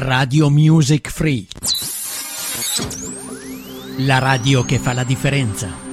Radio Music Free, la radio che fa la differenza.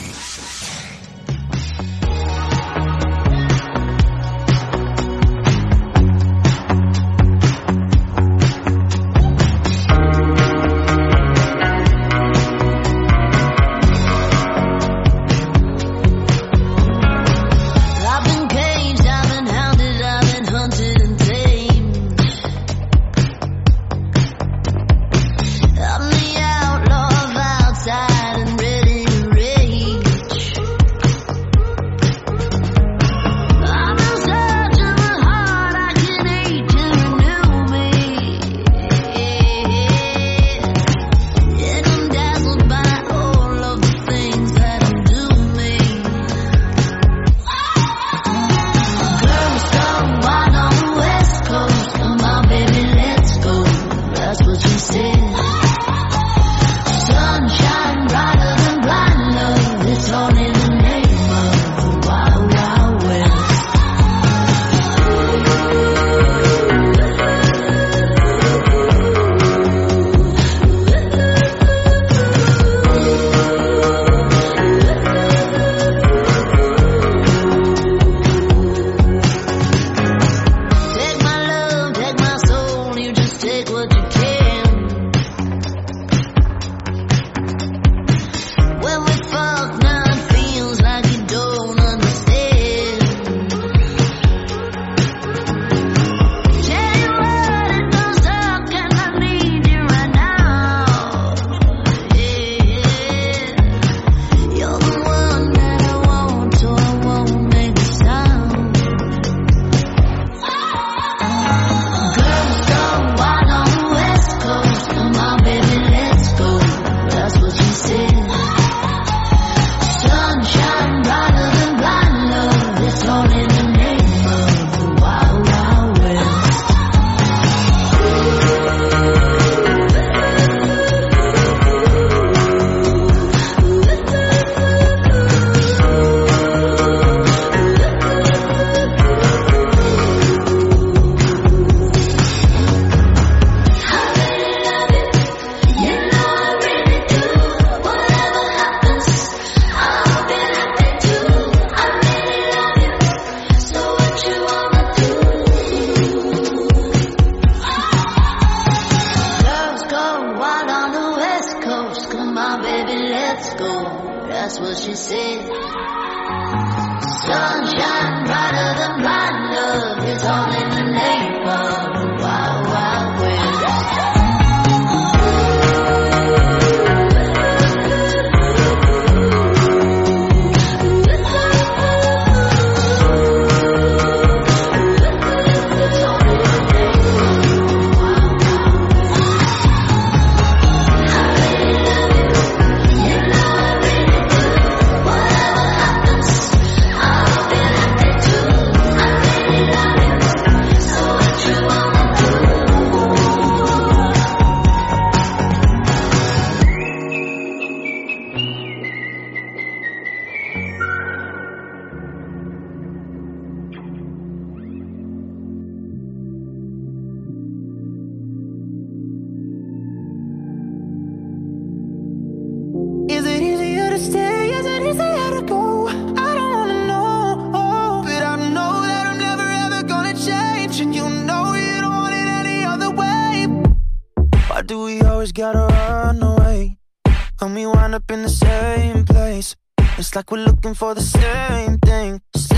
It's like we're looking for the same thing,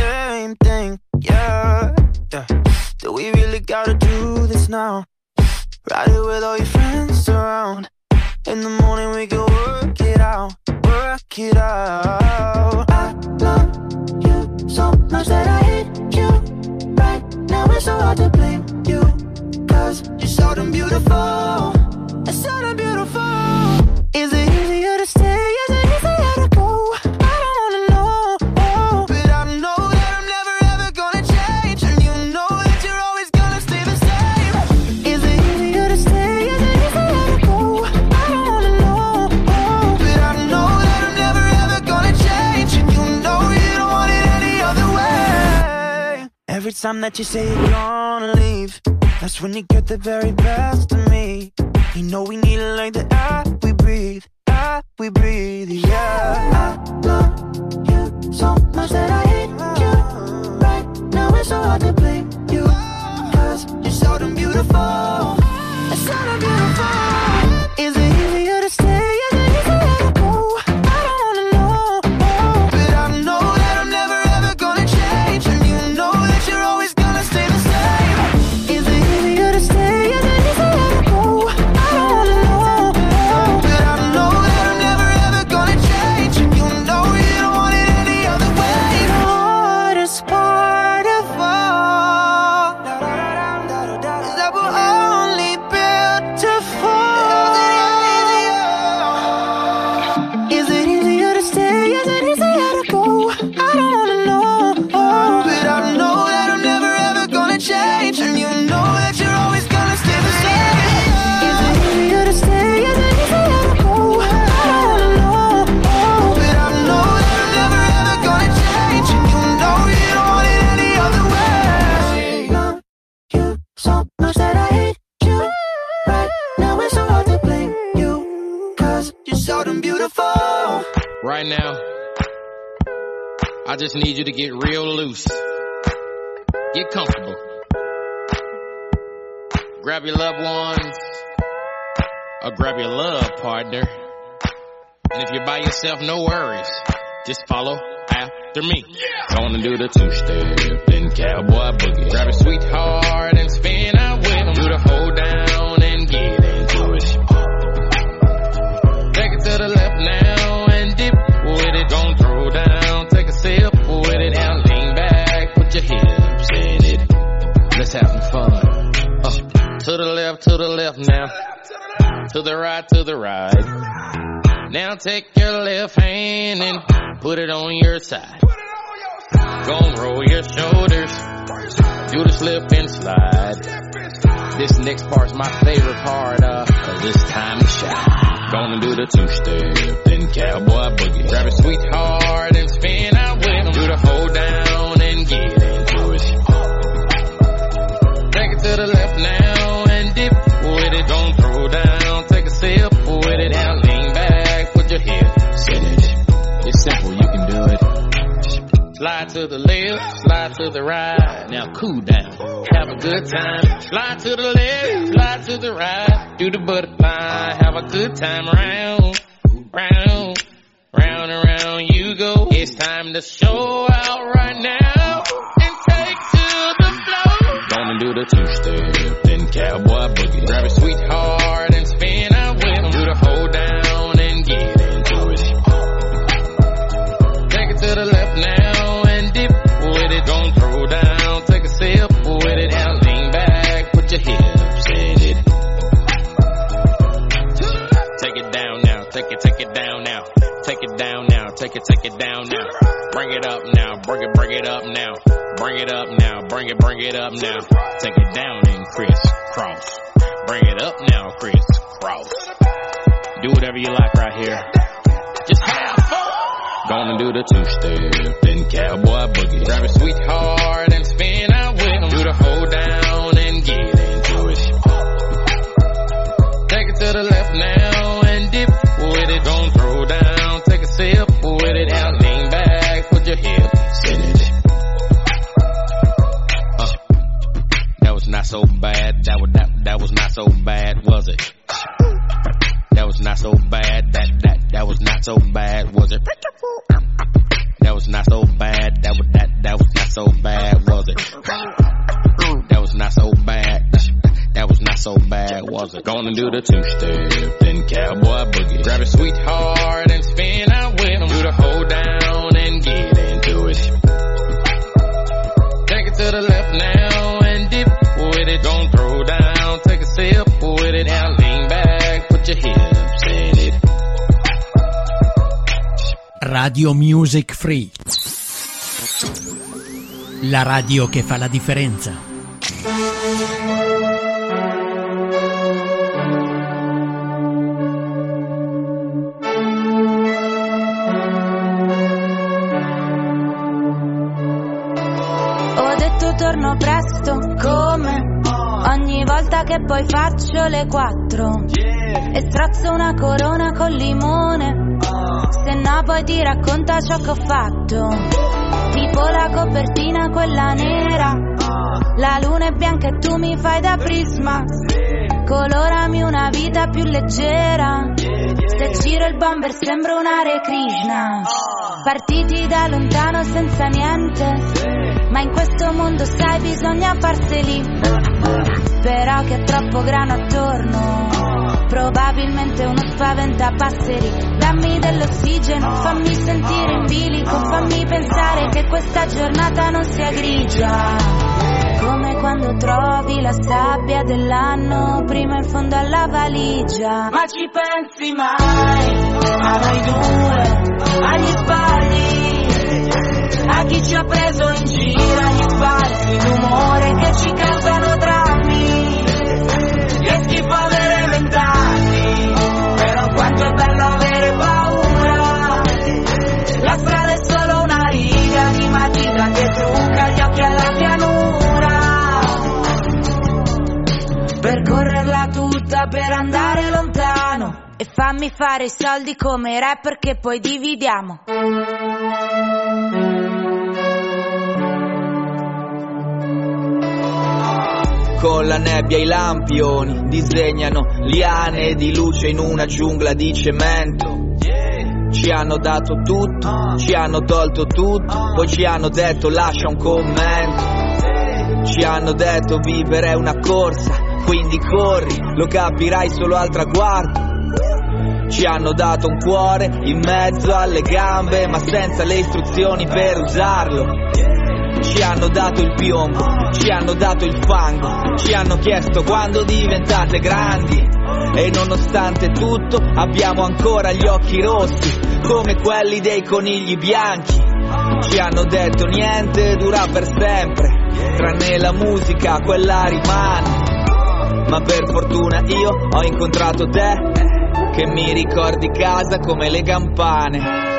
yeah, yeah. Do we really gotta do this now? Ride it with all your friends around. In the morning we can work it out, work it out. I love you so much that I hate you. Right now it's so hard to blame you, 'cause you're so damn beautiful, it's so damn beautiful. Is it easier to stay? Is it easier to go? Every time that you say you're gonna leave, that's when you get the very best of me. you know we need it like the air we breathe, yeah. I love you so much that I hate you. Right now it's so hard to blame you, 'cause you're so damn beautiful. It's so damn beautiful. Is it easier to stay? Is it easier to go? I don't wanna know, but I know that I'm never ever gonna change, and you know that you're always gonna stay the same. Is it easier to stay? Is it easier to go? I don't wanna know, but I know that I'm never ever gonna change, and you know you don't want it any other way. The hardest part of all is that we're only built to fall. Is it easier to stay? Is it easier to go? I don't wanna know, but I know that I'm never ever gonna change, and you know that you're always gonna stay the same. Is it easier to stay? Is it easier to go? I don't wanna know, but I know that I'm never ever gonna change, and you know you don't want it any other way. Love you so much that I hate you. Right now it's so hard to blame you, 'cause you're so damn beautiful. Right now, I just need you to get real loose. Get comfortable. Grab your loved ones, or grab your love partner. And if you're by yourself, no worries. Just follow after me. Gonna do the two-step, then cowboy boogie. Grab a sweetheart and spin out with them. Do the hold down and get into it. Take it to the left now and dip with it. Don't throw down, take a sip with it. Now lean back, put your hips in it. Let's have some fun. To the left now. To the right. Now take your left hand and put it on your side. Gonna roll your shoulders. Do the slip and slide. This next part's my favorite part of this time to shine. Gonna do the two-step, then cowboy boogie. Grab a sweetheart and spin out with them. Do the hold down and get into it. Take it to the left now and dip with it. Don't throw down, take a sip with it. Now lean back, put your hips in it. It's simple, you can do it. Slide to the left, slide to the right. Now cool down, have a good time. Slide to the left, slide to the right. Do the butterfly, have a good time. Round, round, round and round you go. It's time to show out right now and take to the floor. Gonna do the two-step, then cowboy boogie. Grab a sweetheart and spin out with them. Do the hold down and get into it. Take it to the left now and dip with it. Don't throw down, take a sip with it. Now lean back, put your hips in it. Take it down now, take it down now. Take it down now, take it down now. Bring it up now, bring it up now. Bring it up now, bring it up now. Take it down and crisscross. Bring it up now, crisscross. Do whatever you like right here. Just have fun. Gonna do the two-step, then cowboy boogie. Grab a sweetheart and spin out with them. Do the hold down and get into it. Take it to the left now and dip with it. Don't throw down, take a sip with it. Now lean back, put your hips in it. That was not so bad. That was not so bad, was it? That was not so bad. That was not so bad, was it? That was not so bad. That was not so bad, was it? That was not so bad. That was not so bad, was it? Gonna do the two-step, then cowboy boogie. Grab a sweetheart and spin out with them. Do the hold down and get into it. Take it to the left now and dip with it. Don't throw down, take a sip with it. Now lean back, put your hips in it. Radio Music Free. La radio che fa la differenza. Ho detto torno presto, come ogni volta che poi faccio le 4 e strozzo una corona col limone. Se no poi ti racconta ciò che ho fatto, tipo la copertina quella nera. La luna è bianca e tu mi fai da prisma, colorami una vita più leggera. Se giro il bomber sembro un Hare Krishna. Partiti da lontano senza niente, ma in questo mondo sai bisogna farseli. Però che è troppo grano attorno, probabilmente uno spaventapasseri. Dammi dell'ossigeno, fammi sentire in bilico, fammi pensare che questa giornata non sia grigia. Come quando trovi la sabbia dell'anno prima in fondo alla valigia. Ma ci pensi mai a noi due, agli sbagli, a chi ci ha preso in giro, agli sbalzi d'umore che ci causano drammi. Che schifo avere 20 anni, però quanto è bello avere paura. La strada è solo una riga di matita che trucca gli occhi alla pianura. Percorrerla tutta per andare lontano e fammi fare i soldi come i rapper che poi dividiamo. Con la nebbia i lampioni disegnano liane di luce in una giungla di cemento. Ci hanno dato tutto, ci hanno tolto tutto, poi ci hanno detto lascia un commento. Ci hanno detto vivere è una corsa, quindi corri, lo capirai solo al traguardo. Ci hanno dato un cuore in mezzo alle gambe, ma senza le istruzioni per usarlo. Ci hanno dato il piombo, ci hanno dato il fango, ci hanno chiesto quando diventate grandi. E nonostante tutto abbiamo ancora gli occhi rossi, come quelli dei conigli bianchi. Ci hanno detto niente dura per sempre, tranne la musica, quella rimane. Ma per fortuna io ho incontrato te, che mi ricordi casa come le campane.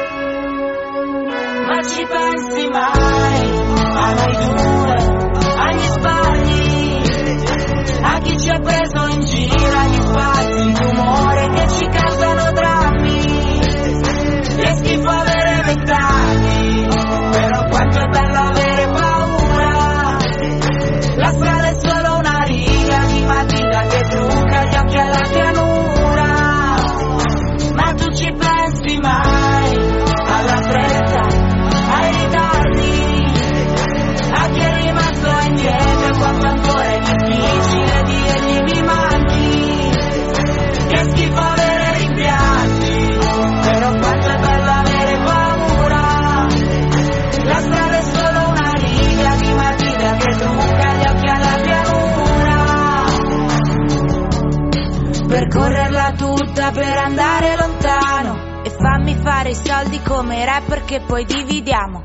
Ma ci pensi mai a noi due, agli sbagli, a chi ci ha preso in giro, agli spazi d'umore che ci causano drammi. Che schifo avere 20 anni, però quanto è bello avere paura. La strada è solo una riga di matita che trucca gli occhi alla pianura. Ma tu ci pensi mai alla fretta, ai ritardi, a chi è rimasto indietro quando ancora è difficile dirgli mi manchi. Che schifo avere rimpianti, però quanto è bello avere paura. La strada è solo una riga di matita che trucca gli occhi alla pianura. Percorrerla tutta per andare lontano e fammi fare i soldi come i rapper che poi dividiamo.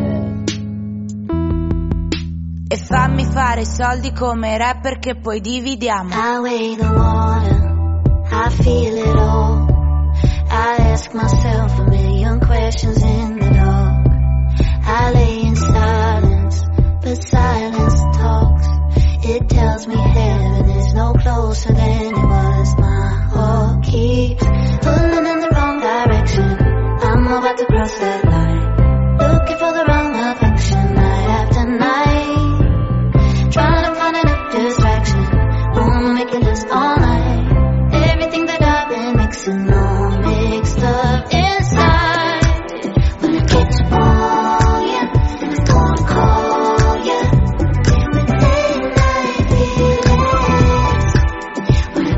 E fammi fare i soldi come i rapper che poi dividiamo. I weigh the water, I feel it all. I ask myself a million questions in the dark. I lay in silence, but silence talks. It tells me heaven is no closer than it was. My heart keeps pulling in the wrong direction. I'm about to cross that line, looking for the wrong affection night after night. Trying to find a new distraction, wanna make it last all night. Everything that I've been mixing all mixed up inside. When I get to call you, I'm gonna call you. With late night feelings. When I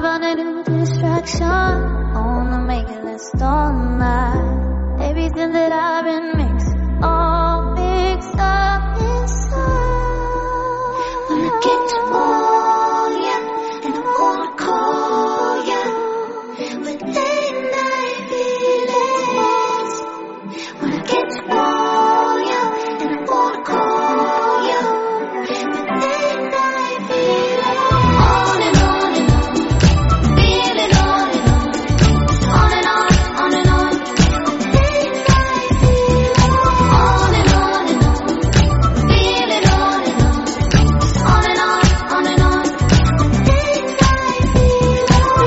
find a new distraction. Wanna make it last all night. Everything that I've been mixing, all mixed up inside. When I get to know ya, and I wanna call ya with late night feelings. When I get to know ya, and I wanna call ya with late night feelings. On and on and on, feeling on and on, on and on, on and on. Late night feelings. On and on and on, feeling on and on, on and on, on and on. Late night feelings.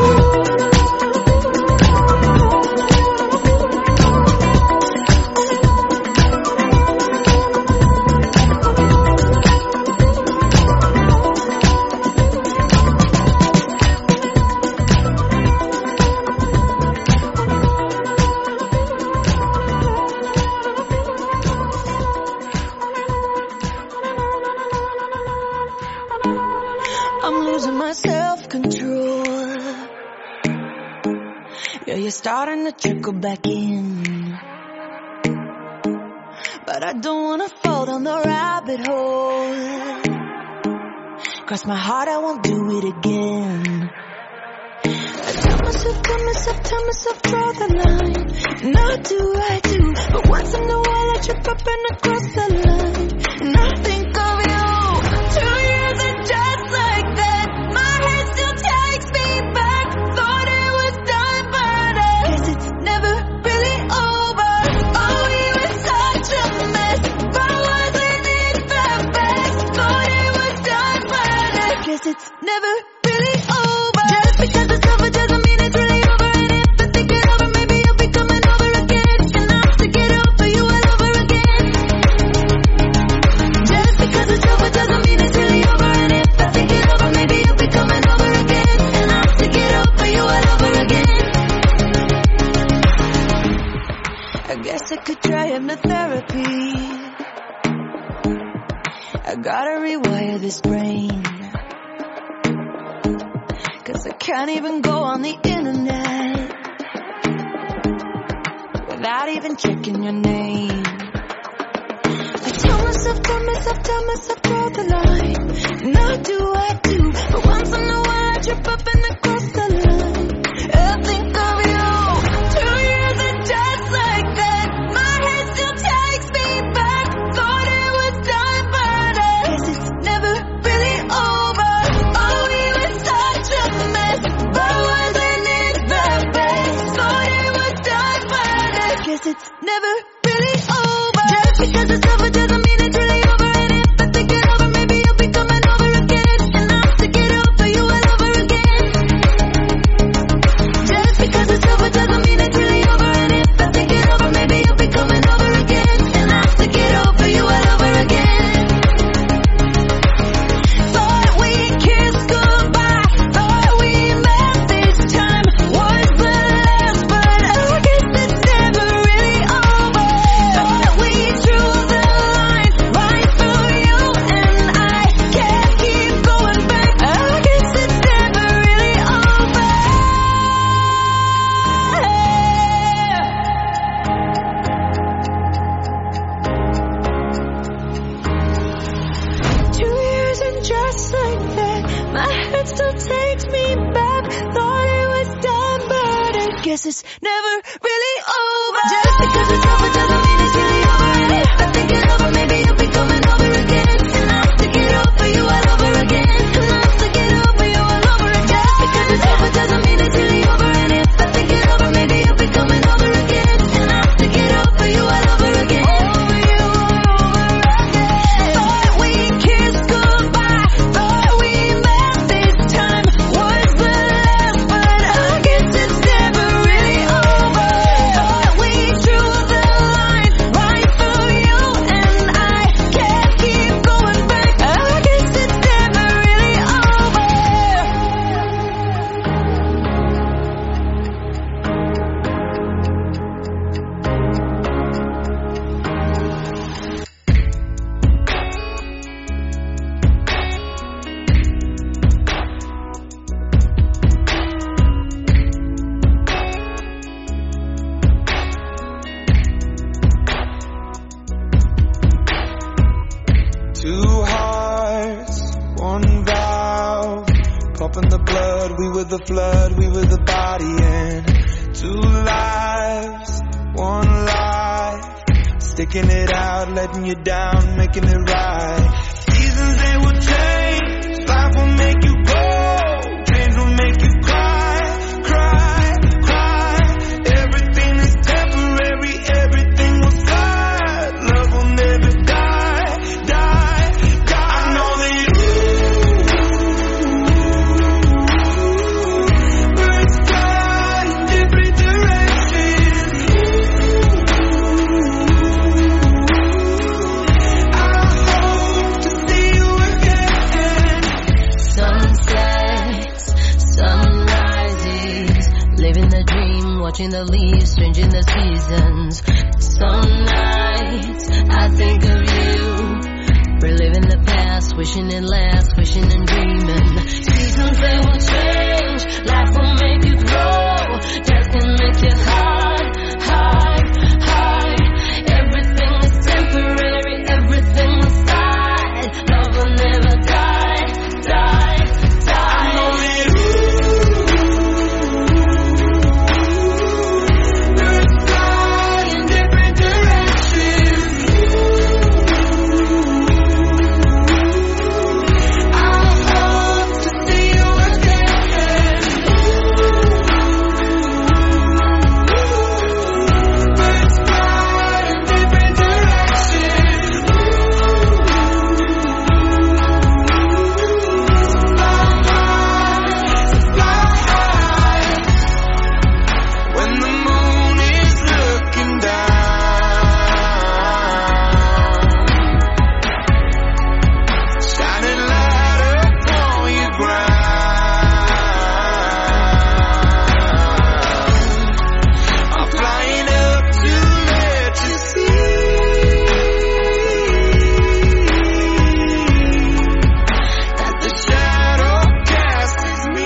I'm losing my self-control. Yeah, you're starting to trickle back in, but I don't wanna fall down the rabbit hole. Cross my heart, I won't do it again. I tell myself, draw the line. And I do, but once in a while I trip up and I cross the line. And I think of you. 2 years and just like that, my head still takes me back. Thought it was done, but I guess it's never really over. Oh, we were such a mess, but wasn't it the best? Thought it was done, but I guess it's never really over. Just because it's over doesn't mean it's really over. And if I think it over, maybe you'll be coming over again. And I'll have to get over you all over again. Just because it's over doesn't mean it's really over. And if I think it over, maybe you'll be coming over again. And I'll have to get over you all over again. I guess I could try hypnotherapy. I gotta rewire this brain, 'cause I can't even go on the internet without even checking your name. I tell myself, draw the line. And I do, but once in a while I trip up and I cross the line. I think of you. 2 years and just like that, my head still takes me back. Thought it was done, but I guess it's never really over. Oh, we were such a mess, but wasn't it the best? Thought it was done, but I guess it's never really over. Just because it's over doesn't mean it's really over. And if I think it over, maybe you'll be coming over again. And I'll have to get over you all over again. Just because it's over doesn't mean it's really over. And if I think it over, maybe you'll be coming over again. And I'll have to get over you all over again. Thought we kissed goodbye, thought we met this time was the last, but I guess it's never really over. Thought we drew the line right through you and I can't keep going back. I guess it's never really over. 2 years and just like that, my head still takes me back. Thought it was done, but I guess it's never really over. Just because it's over doesn't mean it's really over. And if I think it over, maybe you'll be coming over again. And I'll have to get over you all over again. And I'll have to get over you all over again. Just because it's over doesn't mean it's really over. And if I think it over, maybe you'll be coming over again. And I'll have to get over you all over again. Over you all over again. Thought we kissed goodbye, thought we met this time was the last, but I guess it's never really over. Thought we drew the line the flood, we were the body and 2 lives, 1 life. Sticking it out, letting you down, making it right. Seasons they will change, life will make you go, dreams will make you cry, cry, cry. Everything is temporary, everything will slide. Love will never die, die, die. I know that birds fly in different directions. I hope to see you again. Sunsets, sunrises, living the dream, watching the leaves, changing the seasons. Some nights I think of you, reliving the past, wishing it lasts, wishing and dreaming. Seasons they will change, life will make you grow, death can make you high, high, high. Everything is temporary, everything will slide. Love will never die, die, die. I know that birds fly in different directions. I hope to see you again. Birds fly in different directions. Fly high. When the moon is looking down, shining light upon your ground. I'm flying up to let you see that the shadow cast is me.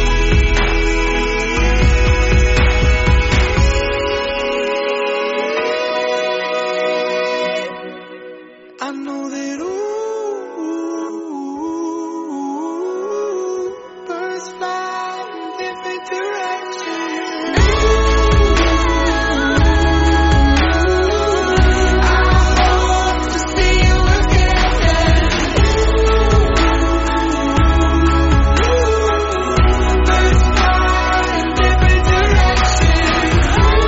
I know that birds fly in different directions. I hope to see you again. Birds fly in different directions.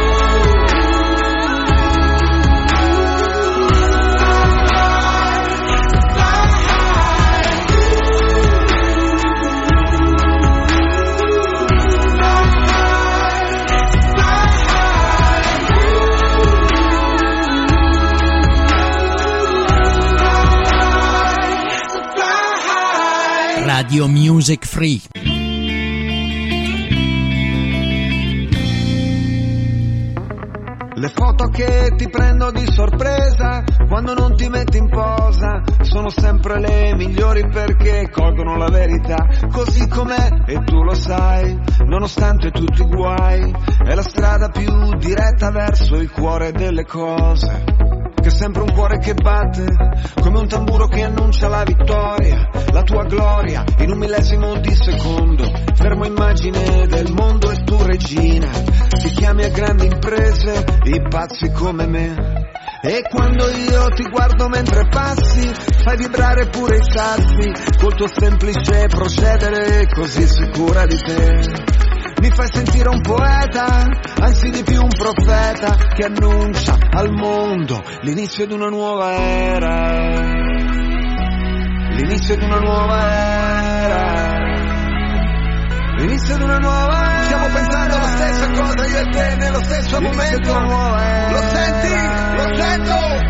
Radio Music Free. Le foto che ti prendo di sorpresa quando non ti metti in posa sono sempre le migliori perché colgono la verità così com'è e tu lo sai, nonostante tutti i guai. È la strada più diretta verso il cuore delle cose, che è sempre un cuore che batte come un tamburo che annuncia la vittoria, la tua gloria in un millesimo di secondo. Fermo immagine del mondo e tu regina, ti chiami a grandi imprese i pazzi come me. E quando io ti guardo mentre passi fai vibrare pure i sassi col tuo semplice procedere così sicura di te. Mi fai sentire un poeta, anzi di più un profeta che annuncia al mondo l'inizio di una nuova era. L'inizio di una nuova era. L'inizio di una nuova era. Stiamo pensando la stessa cosa io e te nello stesso momento. Lo senti? Lo sento?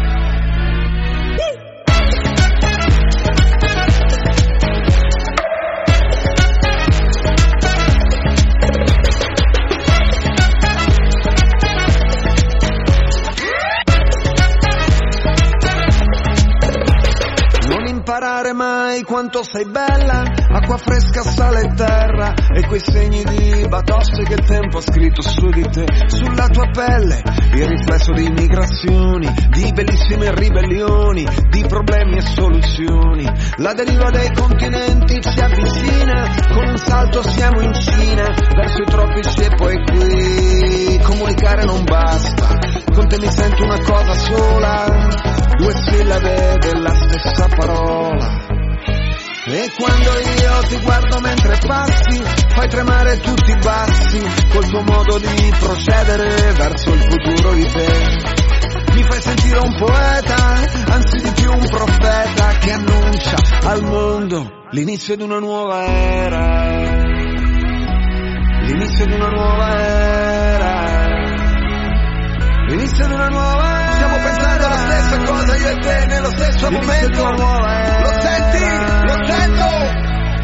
Imparare mai quanto sei bella, acqua fresca, sale e terra, e quei segni di batoste che il tempo ha scritto su di te. Sulla tua pelle il riflesso di migrazioni, di bellissime ribellioni, di problemi e soluzioni. La deriva dei continenti si avvicina, con un salto siamo in Cina, verso i tropici e poi qui. Comunicare non basta, con te mi sento una cosa sola, due sillabe della stessa parola. E quando io ti guardo mentre passi, fai tremare tutti i bassi, col tuo modo di procedere verso il futuro di te. Mi fai sentire un poeta, anzi di più un profeta, che annuncia al mondo l'inizio di una nuova era. L'inizio di una nuova era. L'inizio di una nuova era. Stiamo pensando alla stessa cosa io e te nello stesso momento. Lo senti? Lo sento!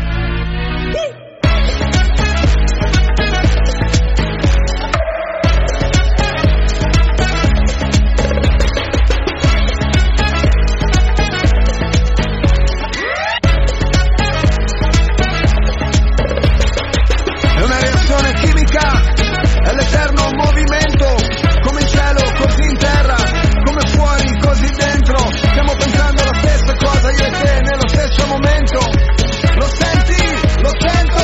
È una reazione chimica, è l'eterno movimento, come in cielo, così in terra, come fuori, così dentro. Stiamo pensando alla stessa cosa io e te nello stesso momento. Lo senti? Lo sento!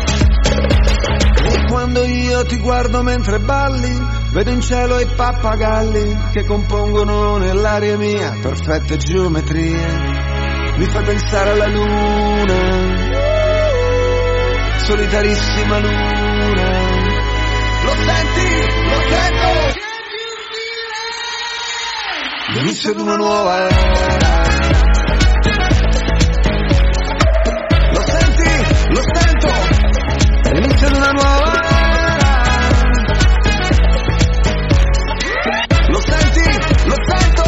E quando io ti guardo mentre balli, vedo in cielo i pappagalli che compongono nell'aria mia perfette geometrie. Mi fai pensare alla luna, solitarissima luna. Lo senti? Lo sento! L'inizio di una nuova era. Lo senti? Lo sento! L'inizio di una nuova era. Lo senti? Lo sento!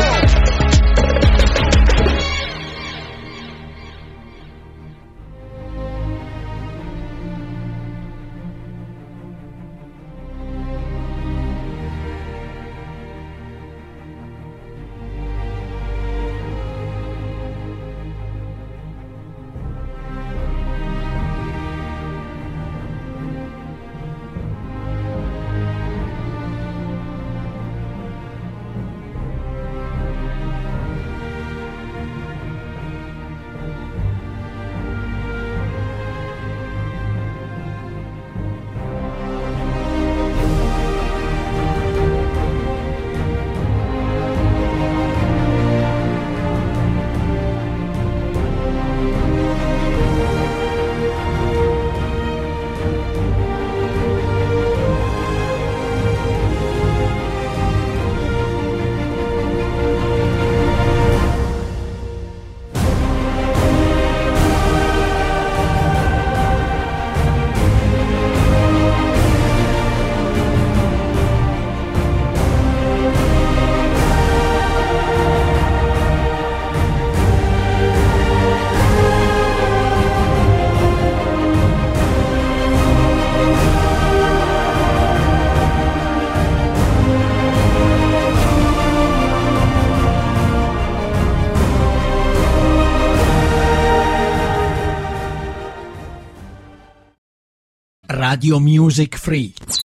Radio Music Free.